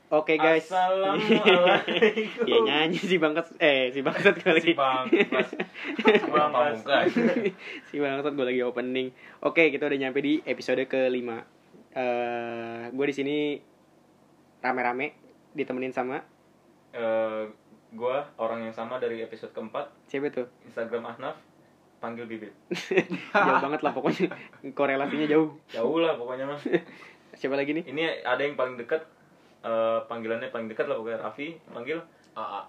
Oke guys. Assalamualaikum. Ya nyanyi si bangsat gue lagi. Si bangsat. Si bangsat gue lagi opening. Oke, kita udah nyampe di episode ke-5. Gue di sini rame-rame ditemenin sama Gue orang yang sama dari episode keempat. siapa tuh? Instagram Ahnaf, panggil Bibit. Jauh banget lah pokoknya. Korelasinya jauh. Jauh lah pokoknya mas. Siapa lagi nih? Ini ada yang paling dekat. Panggilannya paling dekat lah pokoknya. Raffi panggil AA.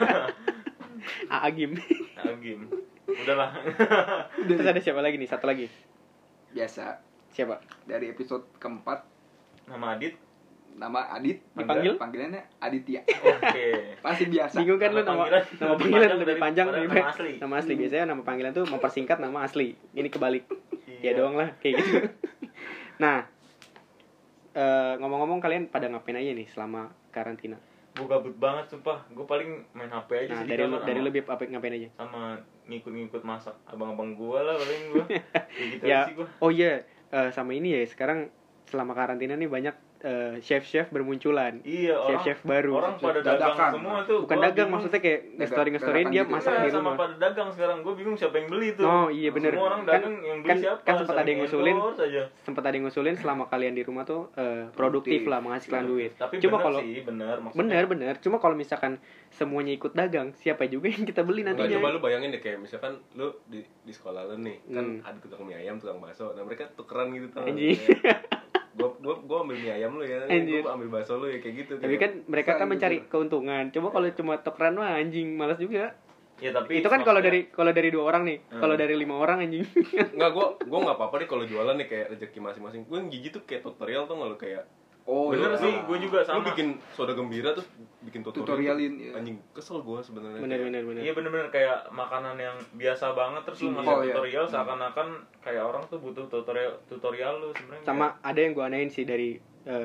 Agim. Agim. Udahlah. Terus ada siapa lagi nih? Satu lagi. Biasa. Siapa? Dari episode keempat, Nama Adit. nama Adit, Dipanggil? panggilannya Aditya. Oke. Pasti biasa. Bingung kan lu nama panggilan lebih panjang daripada daripada nama asli. nama asli. Biasanya nama panggilan tuh mempersingkat nama asli. Ini kebalik. Ya Iya. doang lah kayak gitu. Nah, ngomong-ngomong kalian pada ngapain aja nih selama karantina? Gue gabut banget sumpah. Gue paling main HP aja Nah, sih. dari di kamar dari sama- lebih apa ngapain aja? sama ngikut-ngikut masak abang-abang gue lah paling gue. Gitu Ya, sih gue. oh iya, sama ini ya sekarang selama karantina nih banyak chef-chef bermunculan. Iya, Chef-chef baru. Orang pada Dadakan. dagang semua tuh. Bukan Gua dagang, bingung. maksudnya kayak nge-story-nge-storyin dadakan dia gitu. masak Iya, di sama rumah. pada dagang sekarang. Gue bingung siapa yang beli tuh. Oh iya bener. Semua orang Kan- dagang yang beli siapa? kan sempat ada yang Saling ngusulin. endorse aja. Sempat ada yang ngusulin selama kalian di rumah tuh produktif lah menghasilkan duit. Tapi Cuma bener kalau sih, bener maksudnya. bener. Cuma kalau misalkan semuanya ikut dagang, siapa juga yang kita beli Nggak, nantinya? coba lu bayangin deh kayak misalkan lu di sekolah lu nih kan Hmm. ada tukang mie ayam, tukang bakso. Nah mereka tukeran gitu tuh. Anjing. Gua ambil mie ayam lu ya, Anjir. gua ambil bakso lu ya kayak gitu. Tapi kayak, kan mereka kan Gitu. mencari keuntungan. Coba kalau cuma tukeran mah anjing, malas juga. Ya tapi Itu kan kalau maksudnya- dari 2 orang nih. Hmm. Kalau dari 5 orang anjing. Enggak, gua enggak apa-apa deh kalau jualan nih kayak rezeki masing-masing. Gua yang jijik tuh kayak tutorial tuh enggak lu kayak Oh, bener iya. sih, gue juga lu sama. bikin soda gembira terus bikin tutorial. Tutorialin, tuh, iya. Anjing kesel gua sebenarnya. Bener. Iya bener-bener kayak makanan yang biasa banget terus lu Oh, masuk iya. tutorial seakan-akan kayak orang tuh butuh tutorial lu sebenarnya. Sama ada yang gua anein sih dari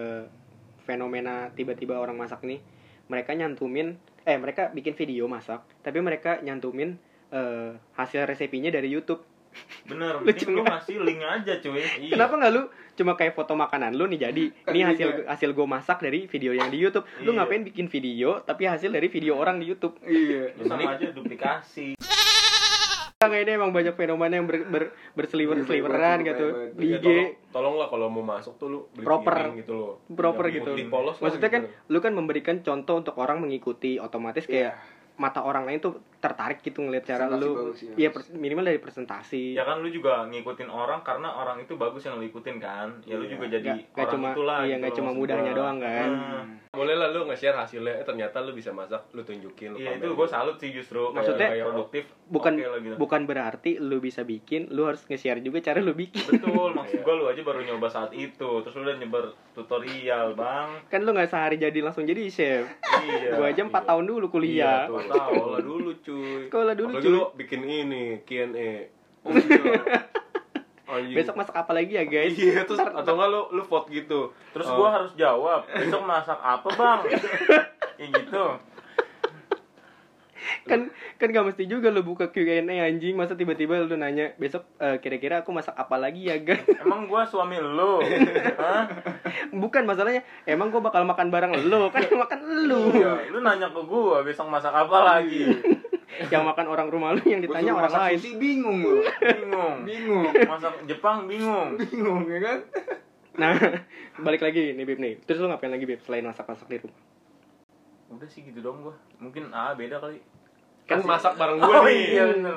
fenomena tiba-tiba orang masak nih. Mereka mereka bikin video masak, tapi mereka nyantumin hasil resepinya dari YouTube. Bener, Lucu mending lu nggak? ngasih link aja cuy. Iya. Kenapa nggak lu cuma kayak foto makanan lu nih jadi Kan ini juga. hasil gue masak dari video yang di YouTube. Lu Iya. ngapain bikin video tapi hasil dari video orang di YouTube? Iya. Lu sama aja duplikasi. Kayak ini emang banyak fenomena yang berseliweran gitu di Ya, IG. tolonglah kalau mau masuk tuh lu beli Proper. piring gitu loh. Proper Yang gitu. putih polos lah Maksudnya kan gitu. lu kan memberikan contoh untuk orang mengikuti, otomatis kayak Iya. mata orang lain tuh tertarik gitu ngeliat cara Presentasi lu. bagus, ya. Iya, minimal dari presentasi. Ya kan lu juga ngikutin orang karena orang itu bagus yang lu ikutin kan. Ya lu Iya. juga jadi Nggak orang cuma itulah. iya gitu nggak loh, cuma maksud mudahnya gua. doang kan. Boleh lah lu nge-share hasilnya, ternyata lu bisa masak, lu tunjukin, lu Iya itu pamerin. gue salut sih justru. Maksudnya, kayak produktif. bukan oke lah gitu. bukan berarti lu bisa bikin, lu harus nge-share juga cara lu bikin. Betul, maksud gue lu aja baru nyoba saat itu, terus lu udah nyebar tutorial, Bang. Kan lu nggak sehari jadi langsung jadi chef. Iya. Gua aja 4 tahun dulu kuliah. Iya, tuh. Sekolah dulu cuy. Sekolah dulu, Apalagi cuy. lu bikin ini Q&A. Oh, iya. Anjing. Besok masak apa lagi ya, guys? Iya, terus atau enggak lu vote gitu. Terus gue harus jawab, besok masak apa, Bang? Kayak gitu. kan gak mesti juga lu buka Q&A anjing, masa tiba-tiba lu nanya besok kira-kira aku masak apa lagi ya, guys? Emang gue suami lu? Hah? Bukan masalahnya, emang gua bakal makan bareng lu, kan yang makan lu. Iya, lu nanya ke gue besok masak apa lagi? Yang makan orang rumah lu, yang Gua ditanya suruh orang masak lain. sushi, bingung lu. Bingung. Bingung. Masak Jepang bingung. Bingung ya kan? Nah, balik lagi nih Bib nih. Terus lu ngapain lagi Bib selain masak-masak di rumah? Udah sih gitu dong gue. Mungkin beda kali. Kan masak bareng Oh gua nih. iya bener.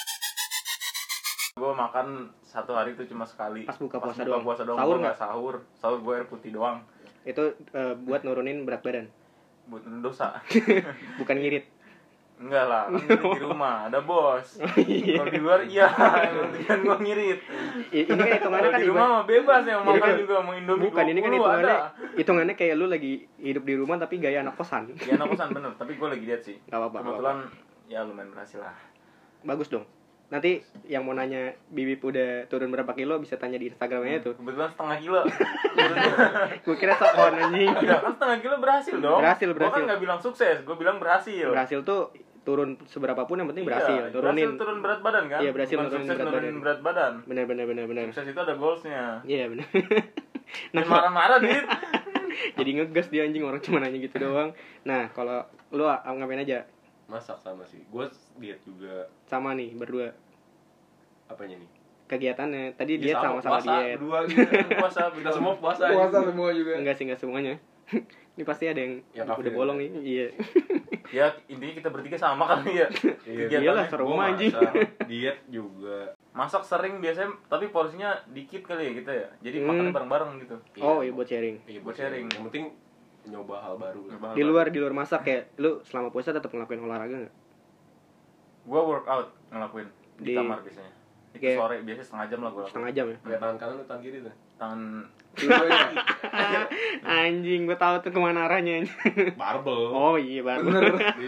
Gue makan satu hari itu cuma sekali. Pas buka puasa buka doang. puasa doang. Sahur Gua nggak sahur. Sahur gue air putih doang. Itu buat nurunin berat badan, Buat dosa. bukan ngirit. Enggak lah, kan di rumah ada bos. Iya. Kalau di luar iya, kan gue ngirit. Ini kan hitungannya Kalau kan di rumah mah bebas ya, mau Ini makan kan- juga mau Indomie. bukan, ini kan 20 hitungannya kayak lu lagi hidup di rumah tapi gaya anak kosan. Ya anak kosan bener, tapi gue lagi lihat sih. Gak apa-apa. Kebetulan ya lumayan berhasil lah. Bagus dong. Nanti yang mau nanya Bibip udah turun berapa kilo bisa tanya di Instagramnya tuh. Kebetulan setengah kilo. Gue kira sok-on anjing. Ya kan setengah kilo berhasil dong. Berhasil. Gue kan nggak bilang sukses, gue bilang berhasil. Berhasil tuh turun seberapa pun yang penting berhasil. Iya, Turunin. berhasil turun berat badan kan? Iya, berhasil Bukan nurunin sukses berat nurunin berat badan. Benar. Sukses itu ada goalsnya. Iya benar. Jangan marah-marah, Dit. Jadi ngegas dia anjing, orang cuma nanya gitu doang. Nah, kalau lu ngapain aja? Masak sama sih. Gue diet juga. Sama nih berdua Apanya nih? kegiatannya. Tadi Ya, diet sama-sama puasa, diet. berdua gitu. Puasa, kita semua puasa. Puasa semua juga. Enggak sih, enggak semuanya. Ini pasti ada yang kafir udah bolong nih. Iya. Ya intinya kita bertiga sama kali ya. Iya, Kegiatannya. iyalah, serumah Gua anjing. masak, diet juga. Masak sering biasanya, tapi porsinya dikit kali ya kita ya. Jadi makan bareng-bareng gitu. Oh, iya buat sharing. Iya, buat sharing. Yang penting nyoba hal baru lah. Di luar masak ya, lu selama puasa tetap ngelakuin olahraga enggak? Gua workout ngelakuin di Di- kamar biasanya. Itu Kayak- sore biasanya setengah jam lah gua lakuin. Setengah jam ya. Kayak tangan kanan atau tangan kiri tuh? Tangan Dua-duanya. Anjing, gua tahu tuh kemana arahnya. Barbel. Oh iya baru. Bener.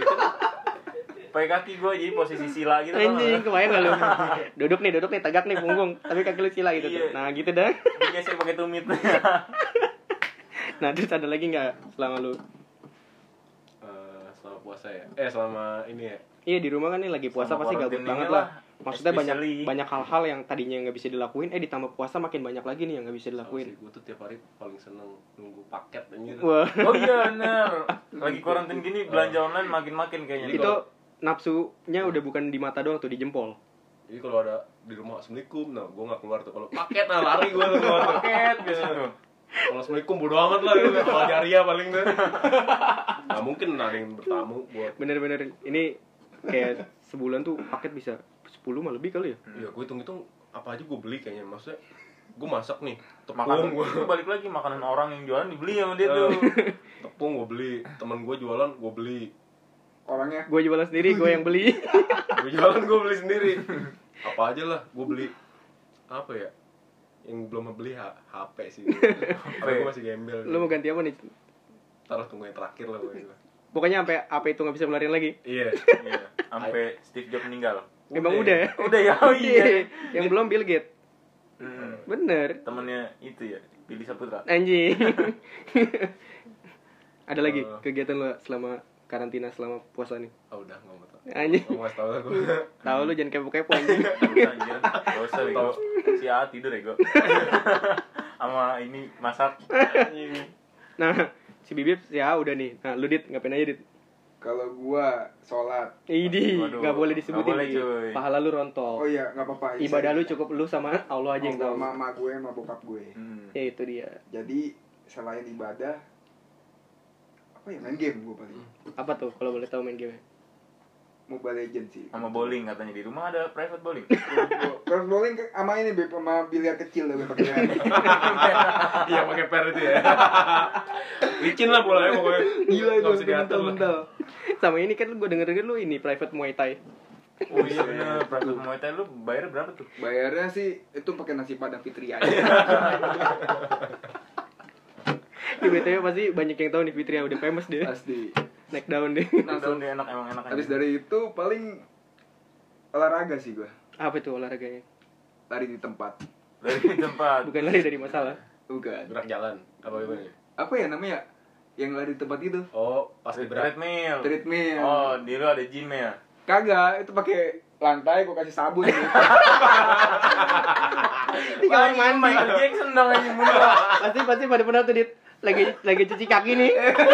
pakai kaki gua jadi posisi sila gitu. Anjing, kebayang gak lu? Duduk nih, tegak nih punggung, tapi kaki lu sila gitu tuh. Iya. Nah, gitu dah. Biasanya pakai tumit. Nah, terus ada lagi nggak selama lu? Selama puasa ya? Selama ini ya? Iya, di rumah kan nih lagi puasa Sama pasti gabut quarantine banget ini lah. Maksudnya especially. banyak hal-hal yang tadinya nggak bisa dilakuin, ditambah puasa makin banyak lagi nih yang nggak bisa dilakuin. Gue tuh tiap hari paling seneng nunggu paket anjir. Wah, Oh iya bener. Lagi karantin gini belanja online makin-makin kayaknya. itu nafsunya udah bukan di mata doang tuh, di jempol. Jadi kalau ada di rumah assalamualaikum, nah gue nggak keluar tuh. Kalau paket nah lari gue tuh keluar tuh. paket biasa tuh. Kalau assalamualaikum bodo amat lah, gitu. Kalau jariah paling tuh. Nggak mungkin ada yang bertamu buat. Bener-bener ini kayak sebulan tuh paket bisa 10 mah lebih kali ya. Iya, gue hitung-hitung apa aja gue beli kayaknya. Maksudnya gue masak nih, Makanan tepung gue. itu balik lagi makanan orang yang jualan dibeli sama dia tuh. Tepung gue beli, temen gue jualan gue beli. Orangnya Gue jualan sendiri, gue yang beli. Gue jualan gue beli sendiri. Apa aja lah, gue beli. Apa ya? Yang belum beli HP sih. HP gue masih gembel. Lu mau ganti apa nih? Taruh tunggu yang terakhir lah gue. Pokoknya sampai apa itu nggak bisa melarin lagi. Iya. Iya, sampai Steve Jobs meninggal. Emang udah ya? Udah ya, oh iya. Yang belum Bill Gates. Hmm. Bener. Temennya itu ya, Billy Saputra. Anjing. Ada lagi Oh. kegiatan lu selama karantina, selama puasa nih? Oh udah nggak mau tahu. Anjing. Nggak mau tahu lah gue. Tahu lu jangan kepo-kepo anjing. Gak usah anjir, gak usah bego. Si A tidur ya gue. Sama ini masak. Nah, si Bibip ya udah nih. Nah, lu Dit, ngapain aja Dit? kalau gua sholat. Idi, Waduh, nggak boleh disebutin. nggak boleh, Di. cuy. Pahala lu rontok. Oh iya, nggak apa-apa. Ibadah lu cukup lu sama Allah aja yang tahu. sama mama gue sama bokap gue. Hmm. Ya itu dia. Jadi selain ibadah apa ya, main game gue paling. Apa tuh kalau boleh tahu main game? Mobile Legends sih. Sama bowling katanya di rumah ada private bowling. Terus bowling sama ini Beb, sama biliar kecil lebih pakai. Iya pakai per itu ya. Licin lah bolanya pokoknya. Gila itu Nggak bisa diatur lah. mental. Sama ini kan gue denger lu ini private Muay Thai. Oh iya bener, private Muay Thai lu bayar berapa tuh? Bayarnya sih itu pakai nasi padang Fitri aja. Di BTW pasti banyak yang tahu nih Fitri udah famous dia. Pasti. Naik daun deh. Langsung dia enak emang enak aja. Habis dari itu paling olahraga sih gua. Apa itu olahraganya? Lari di tempat. Dari tempat. Bukan lari dari masalah. Bukan. Gerak jalan apa gimana? Apa ya namanya? Yang lari di tempat itu? Oh pas di berat. Treadmill. Treadmill. Oh, di lu ada gym ya? Kagak, itu pakai lantai gua kasih sabun gitu. Di kamar mandi. Michael Jackson dong aja mundur. Pasti pada pernah tuh Dit lagi cuci kaki nih.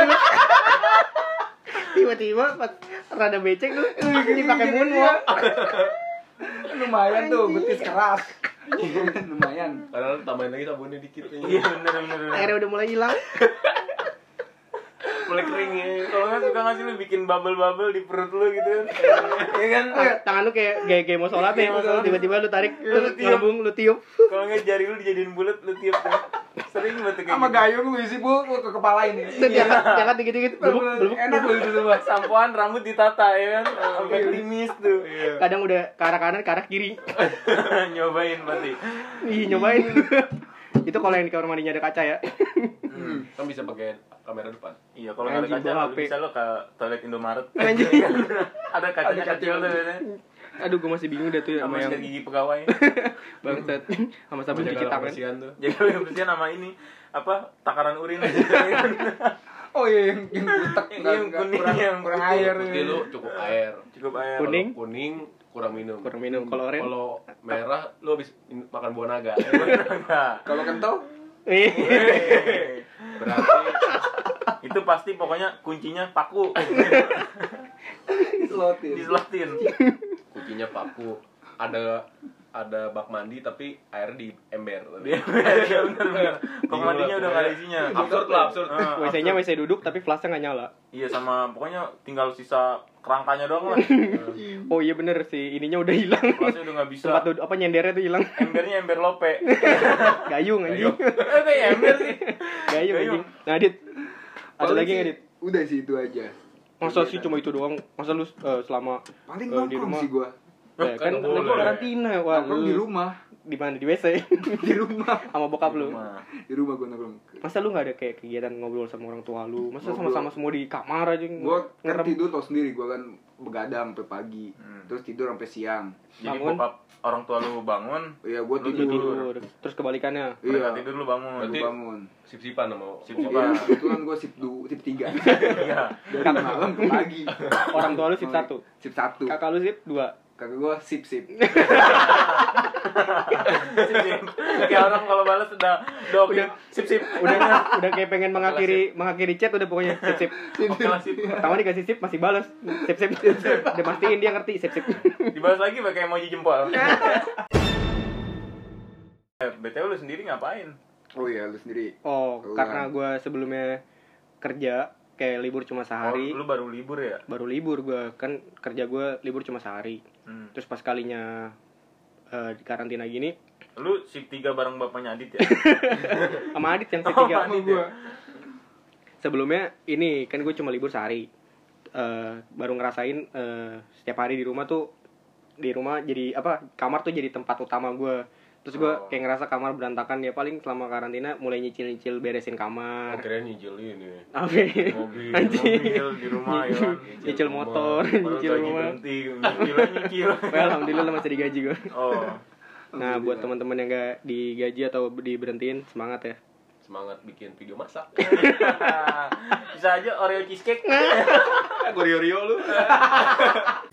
Tiba-tiba pas rada becek tuh ini pakai moonwalk. Lumayan tuh, betis keras. Lumayan. Padahal tambahin lagi sabunnya dikit nih. Iya bener. Airnya udah mulai hilang. Mulai kering ya. Kalau nggak suka nggak sih lu bikin bubble di perut lu gitu kan? Iya kan? Tangan lu kayak gaya mau sholat nih. Kayak mau sholat. Tiba-tiba lu tarik, Lu lu tiup. ngabung, lu tiup. Kalau nggak jari lu dijadiin bulat lu tiup tuh. Sering banget kayak Sama gitu. gayung lu isi bu ke kepala ini. Terus diangkat dikit-dikit. Belum. Enak loh itu semua. Sampoan rambut ditata ya kan? Sampai klimis tuh. Kadang udah ke arah kanan, ke arah kiri. Nyobain pasti. Ih, nyobain. Itu kalau yang di kamar mandinya ada kaca ya. Kan bisa pakai kamera depan. Iya, kalau nggak ada Anjing, kaca bawa lu HP. bisa lo ke toilet Indomaret. Anjing. Ada kacanya kecil tuh biasanya. Aduh, gue masih bingung dah tuh Sama sama yang sikat gigi pegawai. bangsat. Sama sabun cuci Menjaga tangan. kebersihan tuh. Jadi kebersihan sama ini apa takaran urin aja. Oh iya, yang butek Yang kuning, yang kurang putih. air. Putih lu cukup air. Cukup air. Kuning. Kalau kuning kurang minum. Kurang minum. Kalau oranye Kalau merah lu habis makan buah naga. Enggak. Kalau kental Berarti Itu pasti pokoknya kuncinya paku. Slotin. Diselotin. kuncinya paku. Ada bak mandi tapi air di ember. Iya bener. Pengmandinya udah nggak ada isinya. Absurd lah, absurd. WC-nya WC duduk tapi flashnya nggak nyala. Iya sama pokoknya tinggal sisa kerangkanya doang lah. Oh iya bener sih, ininya udah hilang. Flashnya udah nggak bisa. Tempat apa nyendernya tuh hilang. Embernya ember lope. Gayung anjing. Kayak ember sih. Gayung anjing. Nah, Dit. Ada Paling lagi sih, nggak, Dit? Udah sih itu aja. Masa sih cuma itu doang? Masa lu selama Paling di nongkrong rumah? sih gua. Ya, kan nggak lagi boleh. karantina. Wah, Nongkrong di rumah. Di mana? Di WC. Di rumah. Sama bokap lu. Di rumah gua nongkrong. Masa lu nggak ada kayak kegiatan ngobrol sama orang tua lu? Masa Ngobrol. sama-sama semua di kamar aja Gua kan ngerem? tidur tau sendiri, gua kan begadang sampai pagi. Hmm. Terus tidur sampai siang. Jadi Bangun. bokap orang tua lu bangun, Iya, gua Lu Lu tidur. tidur. Terus kebalikannya. mereka Iya. tidur lu bangun. Berarti- Gua bangun. Sip-sipan sama Sip-sipan. Iya, kebetulan gua sip 3. Iya. Dari malam ke pagi. Orang tua lu sip 1. Sip 1. Kakak lu sip 2. Kakak gua sip. Kayak orang kalau balas udah oke. Udah. Sip. Udah kayak pengen mengakhiri chat udah pokoknya sip. Oke lah sip. Pertama dikasih sip masih balas. Sip. Udah pastiin dia ngerti sip. Dibalas lagi pakai emoji jempol. BTW lu sendiri ngapain? Oh iya, lu sendiri. Oh, Keluar. karena gue sebelumnya kerja kayak libur cuma sehari. Oh, lu baru libur ya? Baru libur gue kan kerja gue libur cuma sehari. Terus pas kalinya di karantina gini Lu shift 3 bareng bapaknya Adit ya? sama Adit yang Oh, ketiga. Adit ya? Sebelumnya ini kan gue cuma libur sehari. Baru ngerasain setiap hari di rumah jadi apa, kamar tuh jadi tempat utama gue. Terus gue Oh. kayak ngerasa kamar berantakan, ya paling selama karantina mulai nyicil beresin kamar. Akhirnya nyicil ini Apa? mobil. Anjing. Mobil di rumah ya kan? Nyicil motor, Baru nyicil gaji rumah. berhenti, nyicil. Well, alhamdulillah masih digaji gue. Oh. Nah, buat teman-teman yang gak digaji atau diberhentiin, semangat ya. Semangat bikin video masak. Bisa aja Oreo cheesecake. Gue rio lu.